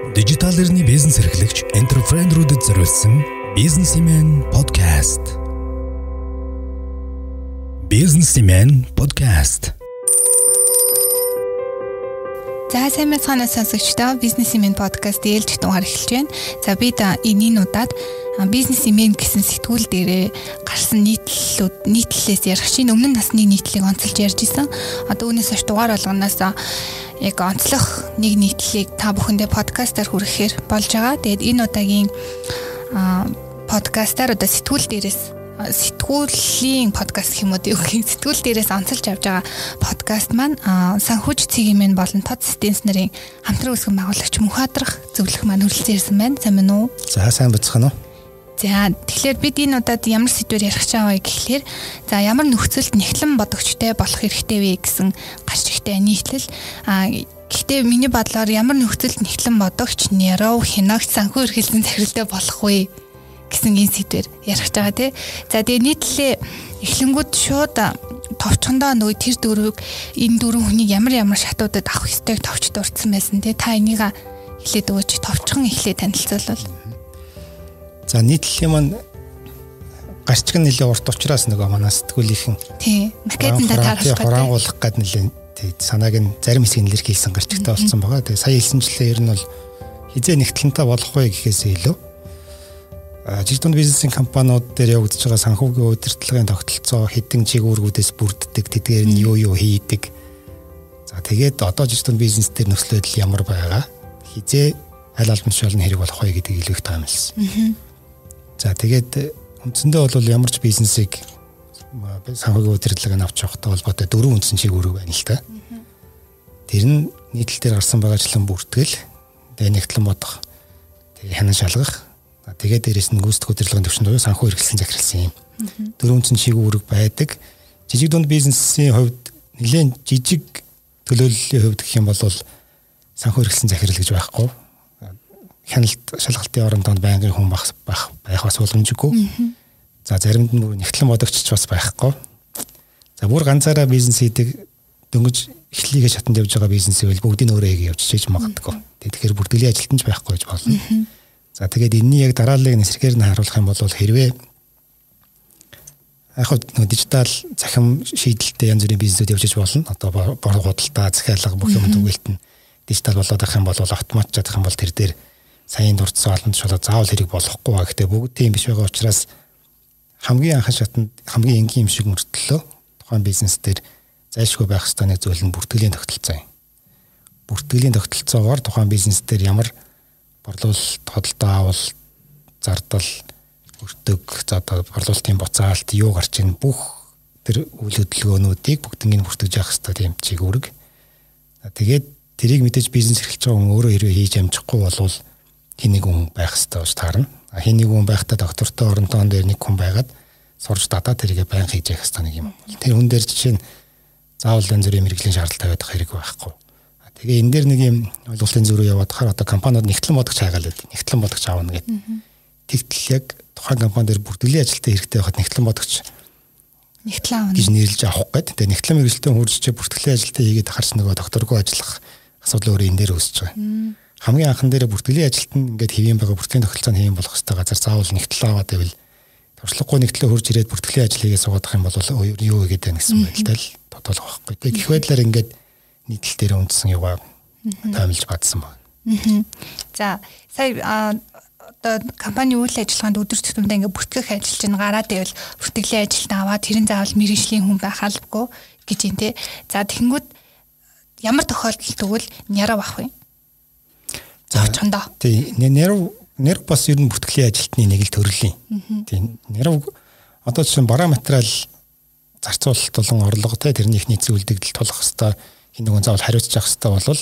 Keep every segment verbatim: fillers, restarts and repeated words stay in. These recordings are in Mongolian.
Дижитал эрхний бизнес эрхлэгч энтерпренерүүдэд зориулсан Businessman podcast. Businessman podcast. За сайн мэцхан сонсогчдоо Businessman podcast ээлж тунгаар эхэлж байна. За бид энэ удаад Businessman гэсэн сэтгүүл дээрээ гарсан нийтлэлүүд нийтлэлээс ярих чинь өмнө нь насны нийтлэлийг онцолж ярьж исэн. Одоо үүнээс хойш дугаар болгоноос яг онцлох нэг нийтлэлийг та бүхэндээ подкастаар хүрэхээр болж байгаа. Тэгээд энэ удаагийн подкастаар одоо сэтгүүл дээрээс сэтгүүлийн подкаст гэх юм уу тийм сэтгүүл дээрээс онцолж авч байгаа подкаст маань санхүүж цэгийн мэн болон тод системс нарын хамтран үүсгэн байгуулагч Мөнхадрах зөвлөх маань хүрэлцэн ирсэн байна. Сайн байна уу? За сайн бацхан уу. За тэгэхээр бид энэ удаад ямар сэдвээр ярих гэж байгаа вэ гэхлээр за ямар нөхцөлд нэгтлэн бодогчтой болох хэрэгтэй вэ гэсэн гарч ихтэй нийтлэл а гэхдээ миний бодлоор ямар нөхцөлд нэгтлэн бодогч нэров хиногч санхүү эрхэлсэн захиралтай болох вэ гэсэн энэ сэдвээр ярих гэж байгаа тий. За тэгээ нийтлэлээ эхлэнгүүд шууд товчхондоо нөгөө тэр дөрвийг энэ дөрвөн хүнийг ямар ямар шатуудад авах ёстойг товч дурдсан байсан тий. Та энийг эхлээд өгөөч товчхон эхлээд танилцуулбал. За нийтлэлийн маань гарчиг нь нэлээ урт учраас нөгөө манай сэтгүүлийнхэн тий макетанда таарах гэдэг хурангуулах гээд нэлээ тий санааг нь зарим хэсгийг нэлэр хийсэн гарчигтай болсон байгаа. Тэгээ сая хэлсэнчлээ ер нь бол хизээ нэгтлэнтэй болох вэ гэхээсээ илүү жижиг дунд бизнесийн компаниуд дээр явагдаж байгаа санхүүгийн удирдлагын тогтолцоо хэдэн чиглэлүүдээс бүрддэг, тэдгээр нь юу юу хийдэг. За тэгээд одоо жижиг дунд бизнес дээр нөхцөл байдал ямар байгаа, хизээ аль албан тушаалны хэрэг болох вэ гэдгийг илүү их таамагласан. За тэгээд үндсэндээ бол ямар ч бизнесийг санхүүгийн удирдлагыг авч явахтай холбоотой дөрвөн үндсэн чиглэл байна л та. Тэр нь нийтлэл дээр гарсан байгаачлан бүртгэл, тэгээд нэгтлэн бодох, тэгээд хянан шалгах, тэгээд дээрэс нь гүйцэтгэх удирдлагын төвшөнд санхүү эрхлсэн захирлсан юм. Дөрвөн үндсэн чиглэл байдаг. Жижиг дунд бизнесийн хувьд нэлээд жижиг төлөөллийн хувьд гэх юм бол санхүү эрхлсэн захирал гэж байхгүй. Хяналт шалгалтын орондоо байнгын хүн байх байх байх бас боломжгүй. За заримд нь бүр нэгтлэн бодогч ч бас байхгүй. За бүр ганцаараа бизнес хийдэг дөнгөж эхлэлийгээ шатанд явж байгаа бизнесийг бүгдийг өөрөө хийгээ явж чийж магадгүй. Тэгэхээр бүртгэлийн ажилтан ч байхгүй гэж болно. За тэгээд энэний яг дарааллыг нэрхээр нь харуулах юм бол хэрвээ яг хөө дижитал захим шийдэлтэй янз бүрийн бизнесүүд явж болно. Одоо бор худалдаа, захиалга бүх юм түгээлт нь дижитал болоод авах юм бол автомат чадах юм бол тэр дээр саяын дурдсан олон тушаалаа заавал хэрэг болохгүй ба гэхдээ бүгд тийм биш байгаа учраас хамгийн анхан шатанд хамгийн энгийн юм шиг мөртлөө тухайн бизнес дээр зайлшгүй байх ёстой нэг зүйл нь бүртгэлийн тогтолцоо юм. Бүртгэлийн тогтолцоогоор тухайн бизнес дээр ямар борлуулалт, хөдөлтөө авал, зардал, өртөг, за одоо борлуулалтын буцаалт юу гарч ийн бүх тэр үйл хөдөлгөөнүүдийг бүгднийг бүртгэж явах ёстой тийм чиг үүрэг. Тэгээд тэрийг мэдээж бизнес эрхэлж байгаа хүн өөрөө хэрвээ хийж амжихгүй болвол хин нэг хүн байх ёстой гэж таарна. Хин нэг хүн байхдаа доктортой орондоо дээр нэг хүн байгаад сурж дадаа тэрийгэ байнга хийж явах ёстой нэг юм. Тэр хүн дээр жишээ нь заавал янз бүрийн мэрэгжлийн шаардлагатай байдаг хэрэг байхгүй. Тэгээ энэ дээр нэг юм ойлголтын зөрүү яваад хахаар одоо компаниуд нэгтлэн бодогч хайгаалаад нэгтлэн бодогч аавна гэдэг. Тэгтэл яг тухайн компани дээр бүртгэлийн ажилтаа хэрэгтэй байхад нэгтлэн бодогч нэгтлэн аавна гэж нэрлэж авах гэдэг. Тэгээ нэгтлэн мэрэгчлээ хурж бүртгэлийн ажилтаа хийгээд харч нөгөө докторгүй ажиллах асуудал өөрөө энэ дээр үүсэж байгаа. Хамгийн анхан дээр бүртгэлийн ажилтан ингээд хэвэн байгаа бүртгэлийн тогтолцоонд хэвэн болох хэвээр газар заавал нэгтэл аваад байвал туршлагагүй нэгтлээ хурж ирээд бүртгэлийн ажил хийгээ суугадах юм бол юу вэ гэдэг гэсэн байдалтай л тодорхой байхгүй. Тэгээ гэх байдлаар ингээд нийтлэл дээр үндсэн юугаа таамаглаж бадсан байна. За сая одоо компани үйл ажиллагаанд өдөр тутамдаа ингээд бүртгэх ажил чинь гараад байвал бүртгэлийн ажилд аваад тэрэн заавал мэргэжлийн хүн байх албагүй гэж юм те. За тэгэнгүүт ямар тохиолдолд тэгвэл нярав ах вэ? Завчхандаа. Тий, нярав нярав бас ер нь бүртгэлийн ажилтны нэг л төрлийн. Тий, нярав одоо чинь бараа материал зарцуулалт болон орлого те тэрний ихний зүйлдэгдэл тулах хэвээр хин нэгэн заавал хариуцж явах хэвээр болвол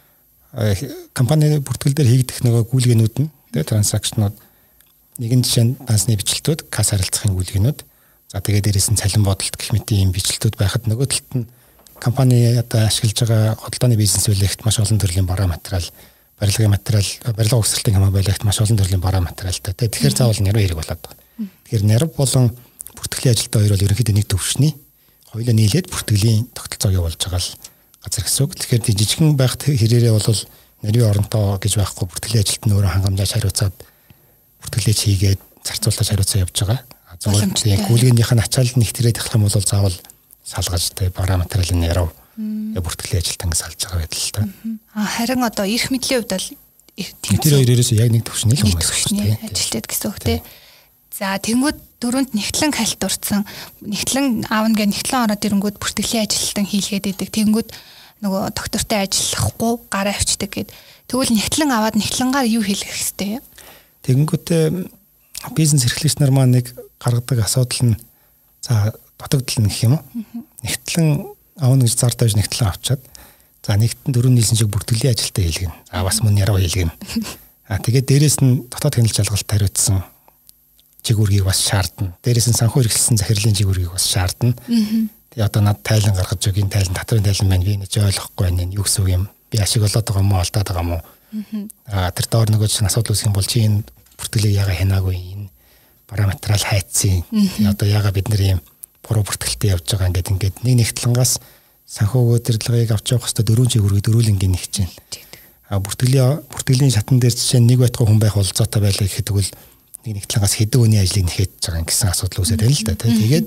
компани бүртгэл дээр хийгдэх нөгөө гүйлгээнүүд нь те транзакшнууд нэгэн жишээ нь бансны бичлэлтүүд, касс харилцахын гүйлгээнүүд, за тэгээд дээрээс нь цалин бодолт гэх мэт ийм бичлэлтүүд байхад нөгөө талд нь компани одоо ашиглаж байгаа худалдааны бизнес үйлэгт маш олон төрлийн бараа материал, барилгын материал, барилга угсралтын хамаа байлгт маш олон төрлийн бараа материалтай. Тэгэхээр заавал нэрвэ хэрэг болоод байна. Тэгэхээр нэрв болон бүртгэлийн ажилтаа хоёр бол ерөнхийдөө нэг төвшний хоёулаа нийлээд бүртгэлийн тогтолцоог явуулж байгаа л газар гэсэн үг. Тэгэхээр жижигхэн байх хэрээрээ бол нэрийн оронтой гэж байхгүй бүртгэлийн ажилд нь өөрөө хангамжаас хариуцаад бүртгэлээ хийгээд зарцуулалтаа хариуцаа явж байгаа. Зөвхөн тийм гүйлгэнийх нь ачаалал нэг тэрээд ахлах юм бол заавал салгаж тэ бара материалын яруу бүртгэлийн ажилд ингэ салж байгаа байдал л та. А харин одоо эрх мэдлийн хувьд бол тэр хоёроос яг нэг төвшний л хүмүүс шүү дээ. Ажилтдаг гэсэн үг тий. За тэнгууд дөрөнд нэгтлэн хальтурсан нэгтлэн аавна гэ нэгтлэн ороод ирэнгүүд бүртгэлийн ажилтан хийлгээд идэг. Тэнгууд нөгөө доктортой ажиллахгүй гараа авчдаг гэд. Тэгвэл нэгтлэн аваад нэгтлэнгаар юу хийх хэвтэй юм? Тэнгүүтээ бизнес эрхлэгч нар маань нэг гаргадаг асуудал нь за дутагдал гэх юм уу? Нэгтлэн аавна гэж зар тавьж нэгтлэн авчаад за нэгтэн дөрөв нийлсэн шиг бүртгэлийн ажилтаа хийлгэн. За бас мөн яруу хийлгэн. А тэгээд дээрэс нь дотоод хяналт жалгалт хариуцсан чигүүргийг бас шаардна. Дээрээс нь санхүү эрхлэлсэн захирлын чигүүргийг бас шаардна. Тэгээ одоо над тайлан гаргаж өгин тайлан татрын тайлан байна. Би нэж ойлгохгүй байна. Юу гэсэн үг юм? Би ашиг болоод байгаа юм уу, алдаад байгаа юм уу? Аа тэр доор нөгөө чинь асуудал үүсэх юм бол чи энэ бүртгэлийг яага хянаагүй энэ параметрал хайцсан. Одоо яага бид нар ийм буруу бүртгэлтэй явж байгаа ингээд ингээд нэг нэгтлангаас санхүү удирдлагыг авч явах хэвээр дөрвөн чигүүргийг дөрвөлнгийн нэг чинь. Аа бүртгэлийн бүртгэлийн шатан дээр жишээ нэг байтугай хүн байх болцоотой байлаа гэхэд тэгвэл нэг нэгтлангаас хэдэн өний ажлыг нэхэд байгаа гэсэн асуудал үүсээд байна л да. Тэгээд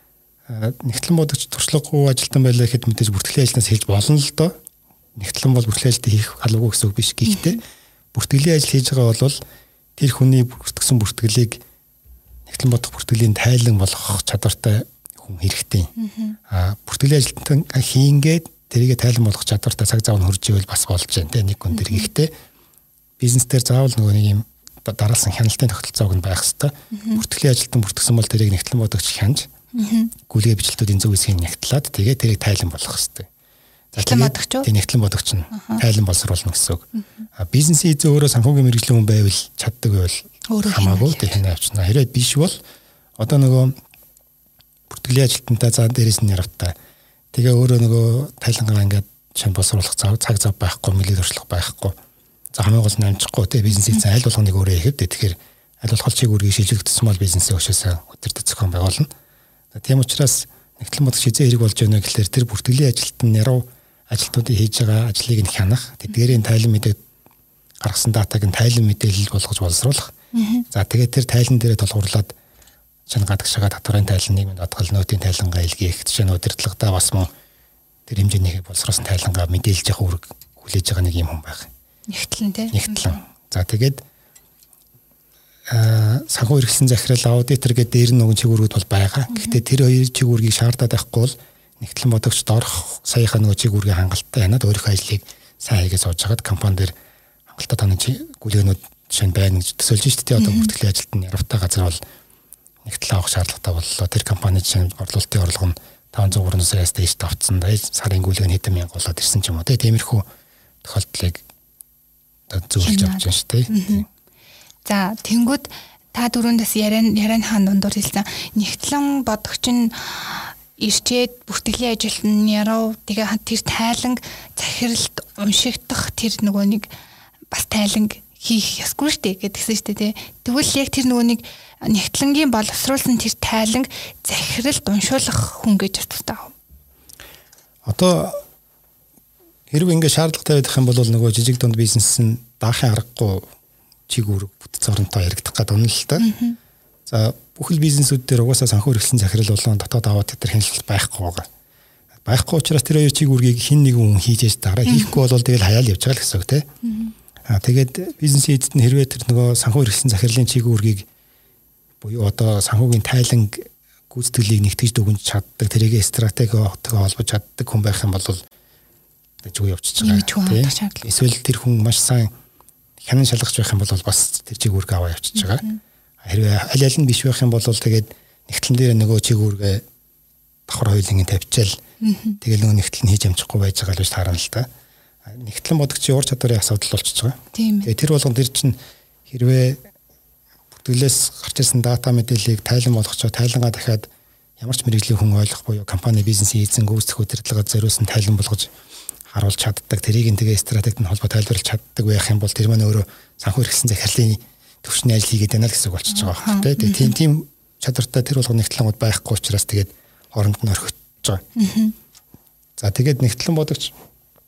нэгтлэн бодогч туршлагагүй ажилтан байлаа гэхэд мэдээж бүртгэлийн ажлаас хэлж болно л доо. Нэгтлэн бол бүртгэлийн ажилд хийх албагүй гэсэн үг биш. Гэхдээ бүртгэлийн ажил хийж байгаа бол тэр хүний бүртгэсэн бүртгэлийг нэгтлэн бодох бүртгэлийн тайлан болгох чадвартай хүн хэрэгтэй. Аа бүртгэлийн ажилтан хийнгээд тэрийгэ тайлан болгох чадвартай цаг зав нь хурж ивэл бас болж байна те нэг хүн тэр гэхдээ бизнес дээр заавал нөгөө нэг юм дараалсан хяналтын тогтолцоог нь байх хэвээр. Бүртгэлийн ажилтан бүртгэсэн бол тэрийг нэгтлэн бодогч хянж гүйлгээ бичлэлтүүдийн зөв хэсгийг нягтлаад тэгээ тэрийг тайлан болгох хэвээр. Нэгтлэн бодогч уу? Тэг нэгтлэн бодогч нь тайлан боловсруулна гэсэн үг. А бизнесийн эзэн өөрөө санхүүгийн мэргэжлийн хүн байвал чаддаг байвал хамаагүй тэг хянаа авчна. Хэрэг биш бол одоо нөгөө бүртгэлийн ажилтнтай заа дээрээс нь яравтаа. Тэгээ өөрөө нөгөө тайлангаа ингээд шин боловсруулах цаг зав байхгүй, мэлэг туршлага байхгүй. За хамгийн гол нь амжихгүй те бизнесийн аль болгоныг өөрөө хийхэд тэгэхээр аль болох чигүүргийг шилжүүлэгдсэн бол бизнесээ өшөөсөө өдөртөд зохион байгуулна. Тийм учраас нэгтлэн бодох хизээ хэрэг болж байна гэхэлэр тэр бүртгэлийн ажилтан яруу ажилтнуудын хийж байгаа ажлыг нь хянах, тэдгээрийн тайлан мэдээ гаргасан датаг нь тайлан мэдээлэл болгож боловсруулах. За тэгээд тэр тайлан дээрээ толгуурлаад шинэ гадагшаага татварын тайлан, нийгмийн даатгал, нөөтийн тайлангаа илгээх, жишээ нь удирдлагатаа бас мөн тэр хэмжээний боловсруулсан тайлангаа мэдээлж явах үүрэг хүлээж байгаа нэг юм хүн байх. Нэгтлэн тий. Нэгтлэн. За тэгээд аа санхүү эрхлэн захирал аудитор гэдэг дээр нь нэгэн чигүүрүүд бол байгаа. Гэхдээ тэр хоёр чигүүргийг шаардаад байхгүй бол нэгтлэн бодогч доорх саяхан нөгөө чигүүргийн хангалттай хянаад өөрийнхөө ажлыг сайн хийгээд сууж хагаад компани дээр хангалттай таны гүйлгээнүүд жишээ нь байна гэж төсөөлж шүү дээ. Одоо бүртгэлийн ажилд нь яравтай газар бол нэгтлэн авах шаардлагатай боллоо. Тэр компани жишээ нь орлуулалтын орлого нь таван зуун гурван саяас дээш давцсан. Сарын гүйлгээ нь хэдэн мянга болоод ирсэн ч юм уу. Тиймэрхүү тохиолдлыг зөвлөж авч байна шүү дээ. За тэнгууд та дөрөндөөс яриан яриан хаан дундуур хэлсэн нэгтлэн бодогч нь ирчээд бүртгэлийн ажилд нь яруу тэгээ тэр тайланг захиралд уншигдах тэр нөгөө нэг бас тайланг хийх ёсгүй шүү дээ гэдгсэн шүү дээ. Тэгвэл яг тэр нөгөө нэг нэгтлэнгийн боловсруулсан тэр тайланг захиралд уншуулах хүн гэж байна. Одоо хэрвээ ингэ шаардлагатай байх юм бол нөгөө жижиг дунд бизнес нь даахын аргагүй чигүүрэг бүтц оронтой яригдах гэдэг үнэн л та. За бүхэл бизнесүүд дээр угаасаа санхүү эрхлэн захирал болон дотоод аваад тэр хяналт байхгүй байгаа. Байхгүй учраас тэр хоёр чигүүргийг хин нэгэн хүн хийж яж дараа хийхгүй бол тэгэл хаяал явж байгаа л гэсэн үг тий. Аа тэгээд бизнесийн эзэд нь хэрвээ тэр нөгөө санхүү эрхлэн захирлын чигүүргийг буюу одоо санхүүгийн тайлан гүйцэтгэлийг нэгтгэж дүгнж чаддаг, тэрийг стратегиотойгоо холбож чаддаг хүн байх юм бол зүг явчихж байгаа. Эсвэл тэр хүн маш сайн хянан шалгаж байх юм бол бас тэр чигүүрг аваа явчихж байгаа. Хэрвээ аль аль нь биш байх юм бол тэгээд нэгтлэн дээр нөгөө чигүүргээ давхар хоёулынгийн тавьчаал тэгэл нөгөө нэгтлэн хийж амжихгүй байж байгаа л гэж таарна л та. Нэгтлэн бодогчийн ур чадварын асуудал болчихж байгаа. Тэгээд тэр болгон тэр чинь хэрвээ бүртгэлээс гарч ирсэн дата мэдээллийг тайлан болгочоо тайлангаа дахиад ямар ч мэрэгжлийн хүн ойлгох буюу компани бизнесийн эзэн гүйцэтгэх удирдлагад зориулсан тайлан болгож харуулж чаддаг, тэрийг нь тэгээ стратегид нь холбоо тайлбарлаж чаддаг байх юм бол тэр маань өөрөө санхүү эрхлэн захирлын төвшний ажил хийгээд байна л гэсэн үг болчихж байгаа байна. Тэгээ тийм тийм чадвартай тэр болгон нэгтлэнгууд байхгүй учраас тэгээд хооронд нь орхиж байгаа. За тэгээд нэгтлэн бодогч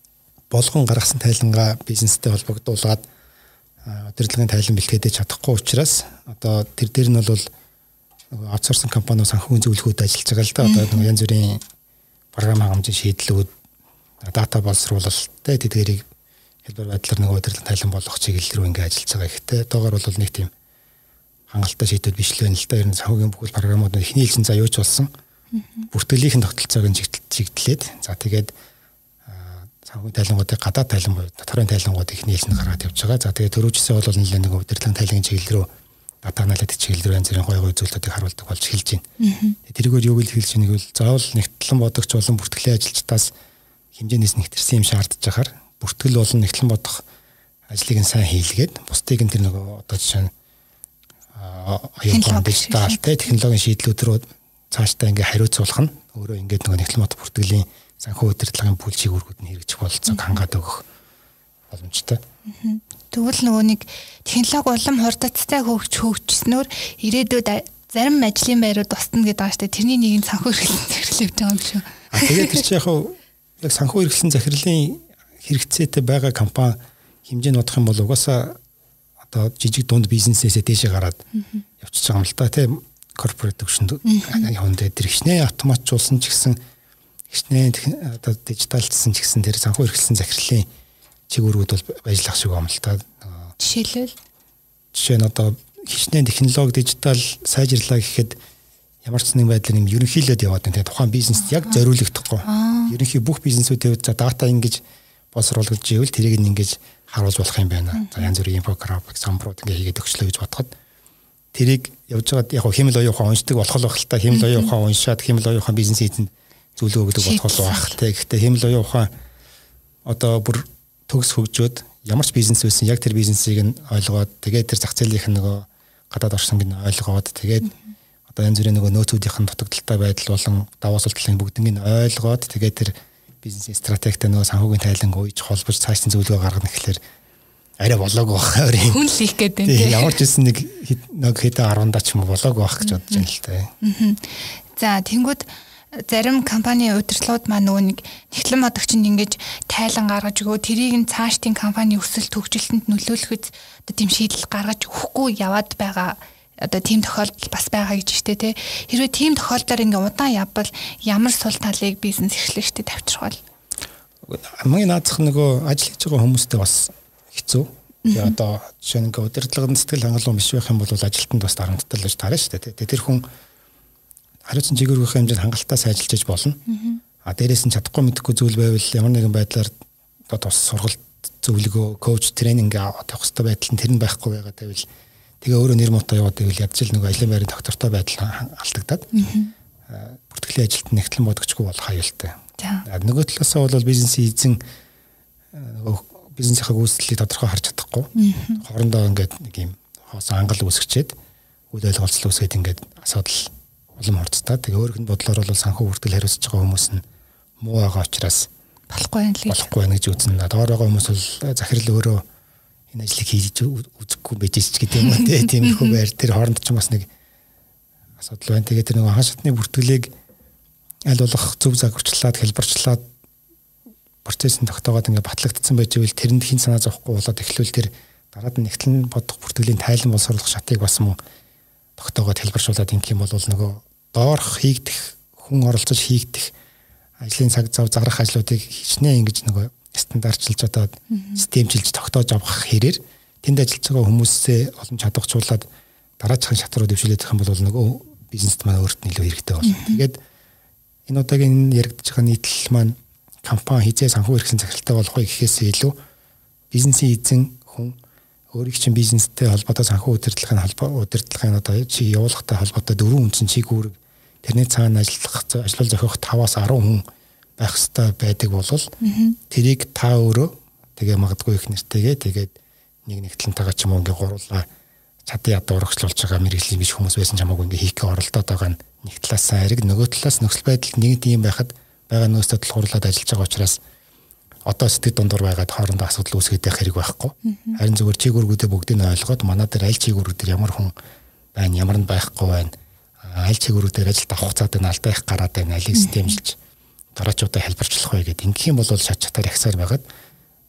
болгон гаргасан тайлангаа бизнестэй холбогдуулаад удирдлагын тайлан бэлтгэж чадахгүй учраас одоо тэр дээр нь бол аутсорсинг компаниуд санхүүгийн зөвлөгөөд ажиллаж байгаа л да. Одоо нэг янз бүрийн програм хангамжийн шийдлүүд, дата боловсруулалттай тэдгэрийг хэлбэр байдлаар нэг удирдлагын тайлан болгох чиглэл рүү ингээ ажиллаж байгаа ихтэй. Одоогор бол нэг тийм хангалттай шийдвэр биш л байна л да. Ер нь санхүүгийн бүхэл програмууд эхний ээлжин заа юуч болсон. Бүртгэлийнхэн тогтолцоог нь чигтлээд за тэгээд санхүүгийн тайлангуудыг гадаад тайлан буюу доторын тайлангууд эхний ээлжинд гаргаад явж байгаа. За тэгээд төрөөчсөө бол нэлээд нэг удирдлагын тайлангийн чиглэл рүү дата аналитик чиглэл рүү янз бүрийн гой гой зүйлүүдийг харуулдаг болж эхэлж байна. Тэрийгээр юу гэж хэлж байгааг бол заавал нэгтлэн бодогч болон бүртгэлийн ажилчдаас хэмжээнээс нэгтэрсэн юм шаардж байгаа. Бүртгэл болон нэгтлэн бодох ажлыг нь сайн хийлгээд бусдыг нь тэр нөгөө одоо жишээ нь аюулгүй дижиталтай технологийн шийдлүүд рүү цаашдаа ингээ хариуцуулах нь өөрөө ингээд нөгөө нэгтлэн бодох бүртгэлийн санхүү удирдлагын бүл чигүүргүүд нь хэрэгжих бололцоог хангаад өгөх боломжтой. Тэгвэл нөгөө нэг технологи улам хурдцтай хөгж хөгжснөөр ирээдүйд зарим ажлын байрууд устна гэдэг байгаа шүү дээ. Тэрний нэг нь санхүү эрхлэлт захирлыг байгаа юм шүү. А тэгээд тэр чинь яг яг санхүү эрхлэлт захирлын хэрэгцээтэй байгаа компани хэмжээ нь бодох юм бол угаасаа одоо жижиг дунд бизнесээсээ дээшээ гараад явчихж байгаа юм л да. Тийм корпорат төвшөнд явна дээр тэр хичнээн автоматжуулсан ч гэсэн хичнээн одоо дижиталчсан ч гэсэн тэр санхүү эрхлэлт захирлын чигүүрүүд бол ажиллах шиг юм л та. Жишээлбэл жишээ нь одоо хичнээн технологи дижитал сайжирлаа гэхэд ямар ч нэг байдлаар юм ерөнхийлөд яваад байна. Тэгээ тухайн бизнест яг зориулагдахгүй. Ерөнхий бүх бизнесүүдэд за дата ингэж боловсруулж ивэл тэрийг ингэж харуулж болох юм байна. За янз бүрийн инфографик, самбарууд ингэ хийгээд өгчлөө гэж бодоход тэрийг явж байгаад яг хэмэл оюун ухаан уншдаг болох л байх л та. Хэмэл оюун ухаан уншаад хэмэл оюун ухаан бизнес эзэнд зөвлөгөө өгдөг болох л байх. Гэхдээ хэмэл оюун ухаан одоо бүр төгс хөгжөөд ямар ч бизнес байсан яг тэр бизнесийг нь ойлгоод тэгээд тэр зах зээлийнх нь нөгөө гадаад оршинг нь ойлгоод тэгээд одоо янз бүрийн нөгөө нөөцүүдийнх нь дутагдaltaй байдал болон даваа суултлын бүгднийг нь ойлгоод тэгээд тэр бизнес стратегтэй нөгөө санхүүгийн тайлан ууж холбож цаашдын зөвлөгөө гаргах гэхэлэр арай болоогүй байх өөрийн хүн л их гэдэг тийм ямар ч байсан нэг нэг хэдэн арвандаа ч юм уу болоогүй байх гэж бодож байна л та. За тэнгууд зарим компани удирдлагууд маань нөгөө нэг нэгтлэн бодогчинд ингэж тайлан гаргаж өгөө тэрийг нь цаашдын компани өсөлт хөгжилтөнд нөлөөлөхөд одоо тийм шийдэл гаргаж өгөхгүй яваад байгаа одоо тийм тохиолдол бас байгаа гэж штэ тий. Хэрвээ тийм тохиолдолд ингээ удаан явбал ямар сул талыг бизнес эрхлэгчдэд тавьчих бол хамгийн наадах нөгөө ажил хийж байгаа хүмүүстэй бас хэцүү. Тэгээ одоо жишээ нь ингээ удирдлагын сэтгэл хангалуун биш байх юм бол ажилтнанд бас дарамттай л гэж таарна штэ тий. Тэр хүн хариуцсан чигүүргийнхээ хэмжээнд хангалттай сайжилж болно. А дээрээс нь чадахгүй мэдэхгүй зүйл байвал ямар нэгэн байдлаар одоо тус сургалт зөвлөгөө, коуч, тренинг авах хэрэгтэй байдал нь тэр нь байхгүй байгаа гэвэл тэгээ өөрөө нэр муутай яваад байвал ядч л нэг ажлын байрын доктортой байдал алдагдаад бүртгэлийн ажилтнаа нэгтлэн бодогчгүй болох аюултай. Нөгөө талаасаа бол бизнесийн эзэн нөгөө бизнесийнхаа гүйцэтгэлийг тодорхой харж чадахгүй. Хоорондоо ингээд нэг юм хоосон ангал үүсгэчээд үйл ойлголцол үүсгээд ингээд асуудал улам хурцтай. Тэгээ өөрийнх нь бодлоор бол санхүү бүртгэл хариуцж байгаа хүмүүс нь муу байгаа учраас болохгүй юм л болохгүй гэж үзнэ. Доор байгаа хүмүүс бол захирал өөрөө энэ ажлыг хийж үзэхгүй байж ч гэдэг юм уу тийм их байр тэр хооронд ч бас нэг асуудал байна. Тэгээ тэр нэг хаан шатны бүртгэлийг аль болох зөв загварчлаад хэлбэрчлээд процессын тогтоогоод ингээд батлагдсан байж ивэл тэрэнд хин санаа зовхгүй болоод эхлүүл тэр дараад нь нэгтлэн бодох бүртгэлийн тайлан боловсруулах шатыг бас мөн тогтоогоод хэлбэршүүлээд ингэх юм бол нөгөө доорх хийгдэх хүн оролцож хийгдэх ажлын цаг зав зарах ажлуудыг хичнээн ингэж нөгөө стандартчилж одоо системчилж тогтоож авах хэрээр тэнд ажиллаж байгаа хүмүүсээ олон чадварчуулаад дараачихын шат руу дэвшүүлээд их юм бол нөгөө бизнест маань өөрт нь илүү хэрэгтэй болно. Тэгээд энэ удаагийн яригдж байгаа нийтлэл маань компани хизээ санхүү эрхлэн захиралтай болох вэ гэхээсээ илүү бизнесийн эзэн хүн өөрийн чинь бизнестэй холбоотой санхүү удирдлагын холбоо удирдлагын одоо чи явуулахтай холбоотой дөрвөн үндсэн чиглэл тэрний цаана ажиллах ажлал зохиох таваас арван хүн байх хэрэгтэй байдаг бол тэрийг та өөрөө тэгээ магадгүй их нэртэйгээ тэгээд нэг нэгтлэнтэйгээ ч юм уу ингээ гурлаа чадсан ядуу урагшлуулж байгаа мэрэгжлийн биш хүмүүс байсан ч хамаагүй ингээ хийхээ оролдоод байгаа нь нэг талаас сайраг нөгөө талаас нөхцөл байдал нэг тийм байхад байгаа нөөцтэй тулгуурлаад ажиллаж байгаа учраас одоо сэтгэд дундуур байгаад хоорондоо асуудал үүсгээд байх хэрэг байхгүй. Харин зөвхөн чигүүргүүдээ бүгдийг нь ойлгоод манай дээр аль чигүүргүүдээр ямар хүн байна, ямар нь байхгүй байна. Аль чигүүргүүдээр ажилд авах цаад байна, алдаа их гараад байна, алийг системжилж дараачуудаа хэлбэрчлэх вэ гэдэг. Ингэх юм бол шат чатаар ихсаар байгаад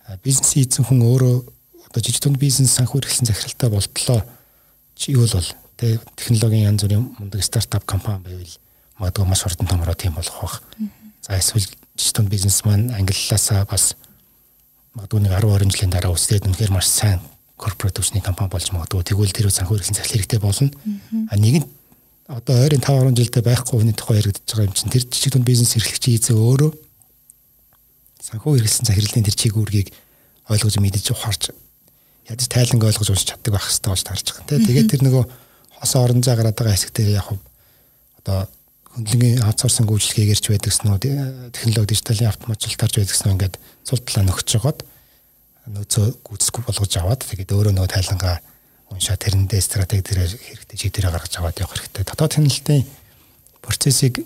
бизнес хийсэн хүн өөрөө одоо жижиг дунд бизнес санхүү эрхлэн захиралтай болтлоо чи юу бол тэ технологийн янз бүрийн мундаг стартап компани байвал магадгүй маш хурдан томроо тийм болох байх. За эсвэл жижиг дунд бизнес маань англиасаа бас магадгүй нэг арван орчим жилийн дараа үсгээд үнэхээр маш сайн корпорат хүчний компани болж магадгүй тэгвэл тэр санхүү эрхлэн захирал хэрэгтэй болно. А нэг нь одоо ойрын таван орчим жилдээ байхгүй хүний тухай яригдж байгаа юм чинь тэр жижиг дунд бизнес эрхлэгчийн эзээ өөрөө санхүү эрхлэн захирлын тэр чиг үүргийг ойлгож мэдэж ухаарч ядаж тайланг ойлгож уншиж чаддаг байх хэрэгтэй болж тарж байгаа. Тэгээд тэр нөгөө хос орон зай гараад байгаа хэсэг дээр яг одоо хөндлөнгийн аутсорсинг үйлчлэгээгээр ч байдаг гэсэн үү технологи дижиталын автоматжуулалтаарч байдаг гэсэн үү ингээд цул талаа нөхөж жагаад нөөцөө гүйцэтгэх болгож аваад тэгээд өөрөө нөгөө тайлангаа уншаа тэрэндээ стратеги дээр хэрэгтэй чиглэлээр гаргаж аваад явах хэрэгтэй. Дотоод хяналтын процессыг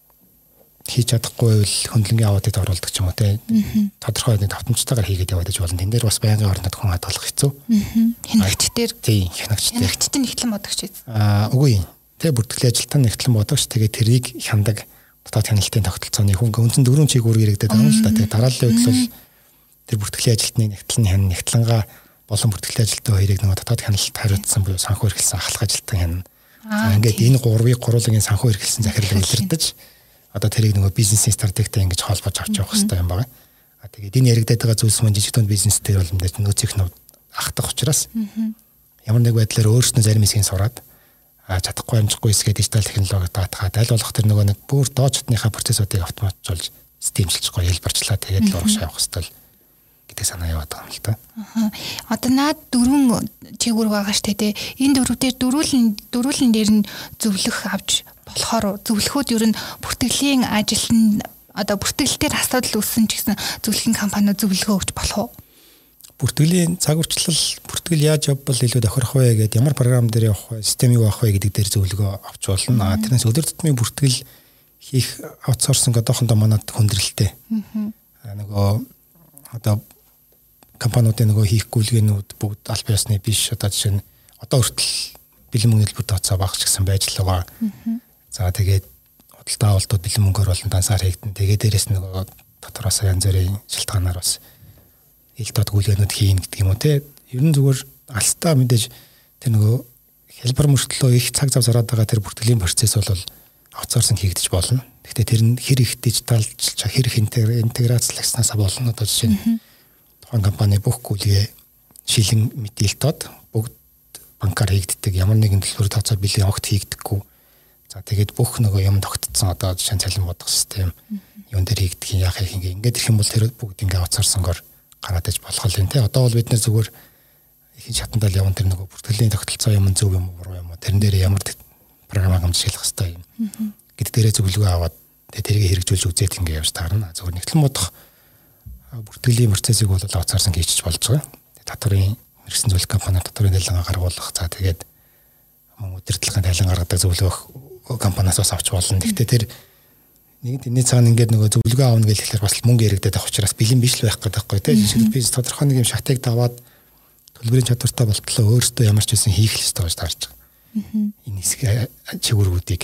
хийж чадахгүй бол хөндлөнгийн аудит оруулдаг ч юм уу те тодорхой нэг давтамжтайгаар хийгээд яваад иж болно. Тэн дээр бас байнгын орнод хүн хадгалах хэцүү. Хянагч дээр тий хянагч дээр. Хянагчтай нэгтлэн бодогч. Аа үгүй. Тэ бүртгэлийн ажилтан нэгтлэн бодогч тэгээд тэрийг хяндаг дотоод хяналтын тогтолцооны хүн өнцөн дөрвөн чиг үүрэг иргэдэд байгаа юм л да. Тэгээд дарааллын үед бол тэр бүртгэлийн ажилтны нэгтлэн хян нэгтлэнгаа болон бүртгэлийн ажилтны хоёрыг нэг дотоод хяналт хариуцсан буюу санхүү эрхлсэн ахлах ажилтан хяна. За ингээд энэ гурвыг гурвын санхүү эрхлсэн захирал илэрдэж одоо тэрийг нөгөө бизнесийн стратегтэй ингэж холбож авч явах хэрэгтэй юм байна. А тэгээд энэ яригдаад байгаа зүйлс маань жижиг дунд бизнес дээр бол мэдээж нөөцийнх нь ахтах учраас ямар нэг байдлаар өөрснөө зарим хэсгийг сураад чадахгүй амжихгүй хэсгээ дижитал технологи даатгаад аль болох тэр нөгөө нэг бүр доод чатныхаа процессуудыг автоматжуулж системчилж гоё хэлбэрчлээ тэгээд л урагш явах хэрэгтэй гэдэг санаа яваад байгаа юм л та. Аа. Одоо наад дөрвөн чигүүр байгаа штэ тий. Энэ дөрвүүдээр дөрүүлэн дөрүүлэн дээр нь зөвлөх авч болохоор зөвлөхөд ер нь бүртгэлийн ажилтнанд одоо бүртгэлтээр асуудал үүссэн ч гэсэн зөвлөхийн компаниуд зөвлөгөө өгч болох уу? Бүртгэлийн цаг урчлал бүртгэл яаж явбал илүү тохирох вэ гэдэг ямар програм дээр явах вэ, систем юу авах вэ гэдэг дээр зөвлөгөө авч болно. А тэрнээс өдөр тутмын бүртгэл хийх аутсорсинг одоохондоо манад хүндрэлтэй. Аа нөгөө одоо компаниудын нөгөө хийх гүйлгээнүүд бүгд аль биесны биш одоо жишээ нь одоо хүртэл бэлэн мөнгө хэлбэр тооцоо багч гэсэн байж л байгаа. За тэгээд худалдаа авалтууд бэлэн мөнгөөр болон дансаар хийгдэн. Тэгээд дээрэс нөгөө дотроос янз бүрийн шалтгаанаар бас ил дод гүйлгээнүүд хийн гэдэг юм уу те. Ер нь зүгээр алстаа мэдээж тэр нөгөө хэлбэр мөртлөө их цаг зав зараад байгаа тэр бүртгэлийн процесс бол аутсорсинг хийгдэж болно. Гэхдээ тэр нь хэр их дижиталчлж хэр их интеграцлагснаас болно. Одоо жишээ нь тухайн компани бүх гүйлгээ шилэн мэдээлэлтод бүгд банкар хийгддэг ямар нэгэн төлбөр тооцоо бэлэн огт хийгдэггүй. За тэгээд бүх нөгөө юм тогтцсон одоо жишээ нь цалин бодох систем юун дээр хийгдэх юм яах юм ингээд ирэх юм бол тэр бүгд ингээ аутсорсингоор гараад иж болох юм те. Одоо бол бид нэр зүгээр их шатандаа л явна тэр нөгөө бүртгэлийн тогтолцоо юм зөв юм уу буруу юм уу тэрэн дээр ямар програм хангамжлах хэрэгтэй юм гэдэг дээрээ зөвлөгөө аваад тэрийг хэрэгжүүлж үзээд ингээ явж таарна. Зөвхөн нэгтлэн бодох бүртгэлийн процессыг бол аутсорсинг хийчих болж байгаа. Татварын мэргэжсэн зөвлөх компани татварын тайлангаа гаргуулах за тэгээд мөн удирдлагын тайлан гаргадаг зөвлөх компаниас бас авч болно. Гэхдээ тэр нэг энэний цаана ингээд нөгөө зөвлөгөө аавна гэхэлэр бас мөнгө яригдаад байх учраас бэлэн биш л байх гэдэг байхгүй тийм жишээ бизнес тодорхой нэг юм шатыг даваад төлбөрийн чадвартай болтлоо өөрөөсөө ямар ч байсан хийх л ёстой гэж таарч байгаа. Энэ хэсэг чигүүргүүдийг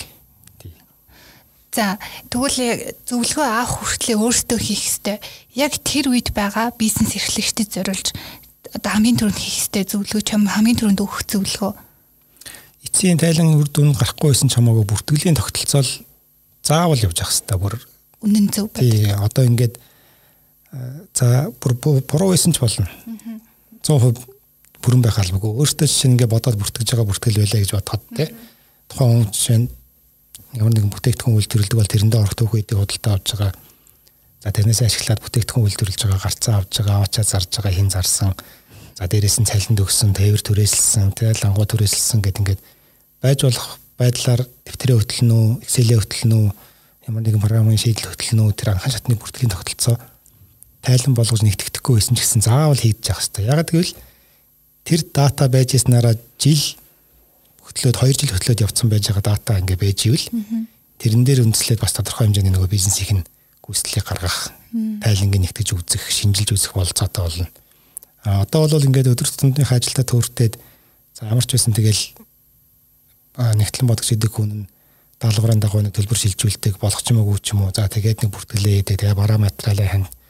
за тэгвэл зөвлөгөө авах хүртлээр өөрөөсөө хийх ёстой. Яг тэр үед байгаа бизнес эрхлэгчдэд зориулж одоо хамгийн түрүүнд хийх ёстой зөвлөгөө чам хамгийн түрүүнд өгөх зөвлөгөө. Эцсийн тайлан үр дүн гарахгүй байсан ч хамаагүй бүртгэлийн тогтолцоо заавал явж явах хэрэгтэй бүр үнэн зөв байна. Тий одоо ингээд за буруу байсан ч болно. цаа хувь бүрэн байх албагүй. Өөртөө жишээ нь ингээд бодоод бүртгэж байгаа бүртгэл байлаа гэж бодоход тий тухайн хүн жишээ нь ямар нэгэн бүтээгдэхүүн үйлдвэрлэдэг бол тэрэндээ орох түүх үедээ худалдаа авч байгаа. За тэрнээс ашиглаад бүтээгдэхүүн үйлдвэрлэж байгаа, гарцаа авч байгаа, аваачаа зарж байгаа, хин зарсан. За дээрээс нь цалинд өгсөн, тээвэр түрээсэлсэн, тэ лангуу түрээсэлсэн гэд ингээд байж болох байдлаар дэвтрээ хөтлөнө үү, Excel-ээ хөтлөнө үү, ямар нэгэн програмын шийдэл хөтлөнө үү, тэр анхан шатны бүртгэлийн тогтолцоо тайлан болгож нэгтгэхгүй байсан ч гэсэн заавал хийгдэж явах хэрэгтэй. Ягаад гэвэл тэр дата байж яснараа жил хөтлөөд хоёр жил хөтлөөд явцсан байж байгаа дата ингээ байж ивэл тэрэн дээр үндэслээд бас тодорхой хэмжээний нөгөө бизнесийн гүйцэтгэлийг гаргах, тайлангийн нэгтгэж үзэх, шинжилж үзэх болцоотой болно. А одоо бол ингээд өдөр тутмын ажилдаа төөртөөд за ямар ч байсан тэгэл нэгтлэн бодох гэдэг хүн нь даалгаврын дагуу нэг төлбөр шилжүүлдэг болох ч юм уу ч юм уу. За тэгээд нэг бүртгэлээ хийдэг. Тэгээ бараа материалаа хань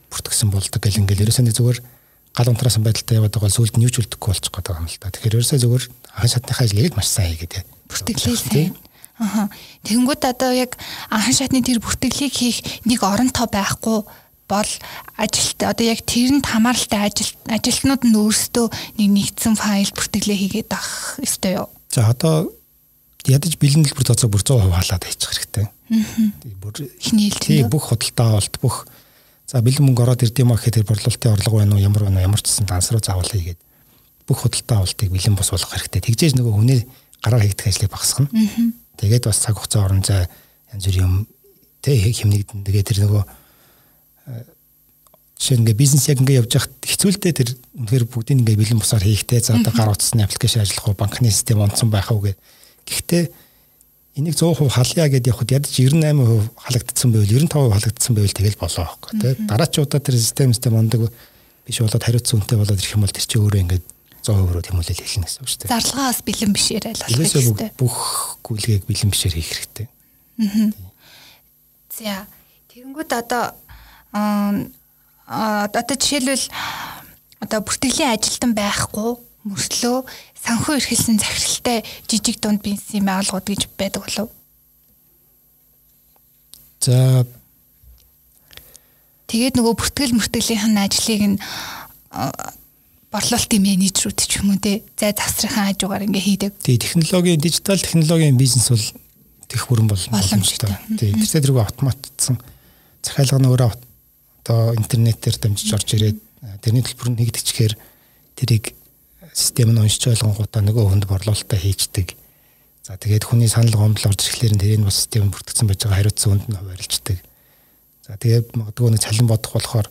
бүртгэсэн болдог гэл ингээл ерөөсөө зүгээр гал унтраасан байдалтай яваад байгаа сүүлд нь юу ч үлдэхгүй болчих гээд байгаа юм л да. Тэгэхээр ерөөсөө зүгээр анхан шатныхаа ажлыг маш сайн хийгээд бүртгэлээ сайн. Аха. Тэнгүүд одоо яг анхан шатны тэр бүртгэлийг хийх нэг оронтой байхгүй бол ажилт одоо яг тэрэнд хамааралтай ажил ажилтнууд нь өөрсдөө нэг нэгдсэн файл бүртгэлээ хийгээд авах ёстой юу? За одоо ядаж бэлэн дэлбэр тооцоо бүр сто процент хаалаад хийчих хэрэгтэй. Аа. Бүр ихнээлт бүх худалдаа авалт бүх за бэлэн мөнгө ороод ирд юм аа гэхээр борлуулалтын орлого байна уу ямар байна уу ямар ч гэсэн данс руу заавал хийгээд бүх худалдаа авалтыг бэлэн бос болгох хэрэгтэй. Тэгжээж нөгөө хүний гараар хийгдэх ажлыг багасгана. Тэгээд бас цаг хугацаа орон зай янз бүрийн юм тэ хэмнэгдэн. Тэгээд тэр нөгөө жишээ нь ингээ бизнес яг ингээ явж хахад хэцүүлдэ тэр үнэхээр бүгдийг ингээ бэлэн босоор хийхтэй. За одоо гар утасны аппликейшн ажиллах уу, банкны систем онцсон байх уу гэх. Гэхдээ энийг сто процент халъя гэдээ явахад ядаж девяносто восемь процент халагдсан байвал девяносто пять процент халагдсан байвал тэгэл болоо байхгүй тий. Дараачуудаа тэр систем систем ондог биш болоод хариуцсан үнэтэй болоод ирэх юм бол тэр чинь өөрөө ингээд сто процент руу тэмүүлэл хэлнэ гэсэн үг шүү дээ. Зарлагаа бас бэлэн бишээр айлгах хэрэгтэй. Бүх гүйлгээг бэлэн бишээр хийх хэрэгтэй. Аа. За тэгэнгүүт одоо аа одоо жишээлбэл одоо бүртгэлийн ажилтан байхгүй мөрслөө санхүү эрхэлсэн захиралтай жижиг дунд бизнесийн байгууллагууд гэж байдаг болов. За тэгээд нөгөө бүртгэл мөртгөлийн ажлыг нь борлуулалтын менежерүүд ч юм уу те зай завсрахын хажуугаар ингээ хийдэг. Тий технологийн дижитал технологийн бизнес бол тех бүрэн боломжтой. Тий тэр зэрэг автоматцсан захиалга нь өөрөө одоо интернетээр дамжиж орж ирээд тэрний төлбөр нь нэгдчихээр тэрийг систем нь уншиж ойлгонгуудаа нөгөө хүнд борлуулалтаа хийждэг. За тэгээд хүний санал гомдол орж ирэхлээр тэрийг бас систем бүртгэсэн байж байгаа хариуцсан хүнд нь хуваарлцдаг. За тэгээд магадгүй нэг цалин бодох болохоор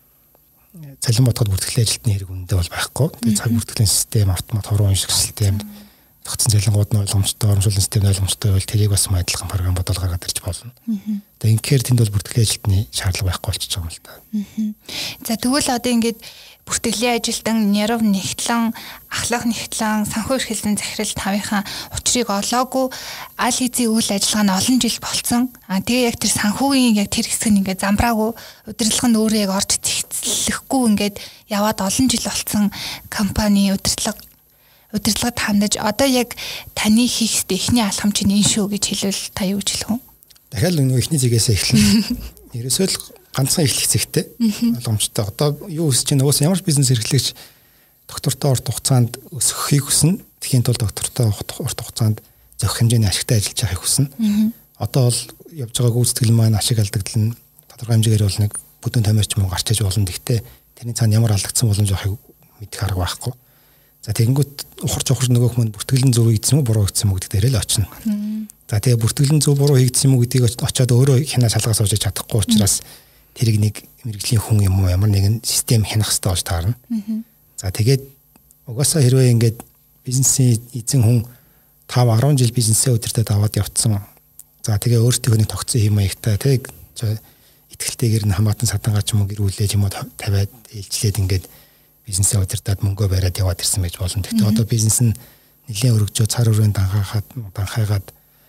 цалин бодоход бүртгэлийн ажилтны хэрэг үндэ бол байхгүй. Тэгээд цаг бүртгэлийн систем автомат хорон унших систем тогтсон цалингууд нь ойлгомжтой, урамшууллын систем ойлгомжтой байвал тэрийг бас адилхан програм бодол гаргаад ирж болно. Тэгээд инхээр тэнд бол бүртгэлийн ажилтны шаардлага байхгүй болчихж байгаа юм л та. За тэгвэл одоо ингээд бүртгэлийн ажилтан нэрв нэгтлэн, ахлах нэгтлэн, санхүү эрхэлсэн захирал тавынхаа учрыг олоогүй аль хэзээ үйл ажиллагаа нь олон жил болцсон. Аа тэгээ яг тэр санхүүгийн яг тэр хэсэг нь ингээд замбраагүй, удирдлага нь өөрөө яг орж цэгцлэхгүй ингээд яваад олон жил болцсон компани удирдлага удирдлагад хандаж одоо яг таны хийх ёстой эхний алхам чинь энэ шүү гэж хэлвэл та юу гэж хэлэх вэ? Дахиад нөгөө эхний зэгээс эхлэн. Ерөөсөө л ганцхан эхлэх зэгтэй ойлгомжтой. Одоо юу хүсэж чинь уус ямар ч бизнес эрхлэгч доктортой урт хугацаанд өсөхийг хүснэ. Тэхийн тулд доктортой урт хугацаанд зохих хэмжээний ашигтай ажиллаж байхыг хүснэ. Одоо бол явж байгаа гүйцэтгэл маань ашиг алдагдал нь тодорхой хэмжээгээр бол нэг бүдүүн тамирч мөн гарч иж болно. Гэхдээ тэрний цаана ямар алдагдсан боломж байхыг мэдэх арга байхгүй. За тэгэнгүүт ухарч ухарч нөгөөх мөн бүртгэлэн зөв хийгдсэн үү буруу хийгдсэн үү гэдэг дээр л очино. За тэгээ бүртгэлэн зөв буруу хийгдсэн юм уу гэдгийг очиод өөрөө хянаа шалгаж авч чадахгүй учраас тэрийг нэг мэрэгжлийн хүн юм уу ямар нэгэн систем хянах хэрэгтэй болж таарна. За тэгээд угаасаа хэрвээ ингээд бизнесийн эзэн хүн five ten жил бизнесээ өдөртөө даваад явцсан. За тэгээ өөртөө нэг тогтсон хэм маягтай тэг итгэлтэйгээр нь хамаатан садангач юм уу гэрүүлээ юм уу тавиад ээлжлээд ингээд бизнесээ удирдаад мөнгөө бариад яваад ирсэн байж болно. Гэхдээ одоо бизнес нь нэлийн өргөжөө цар өрөөнд данхаахад данхайгаад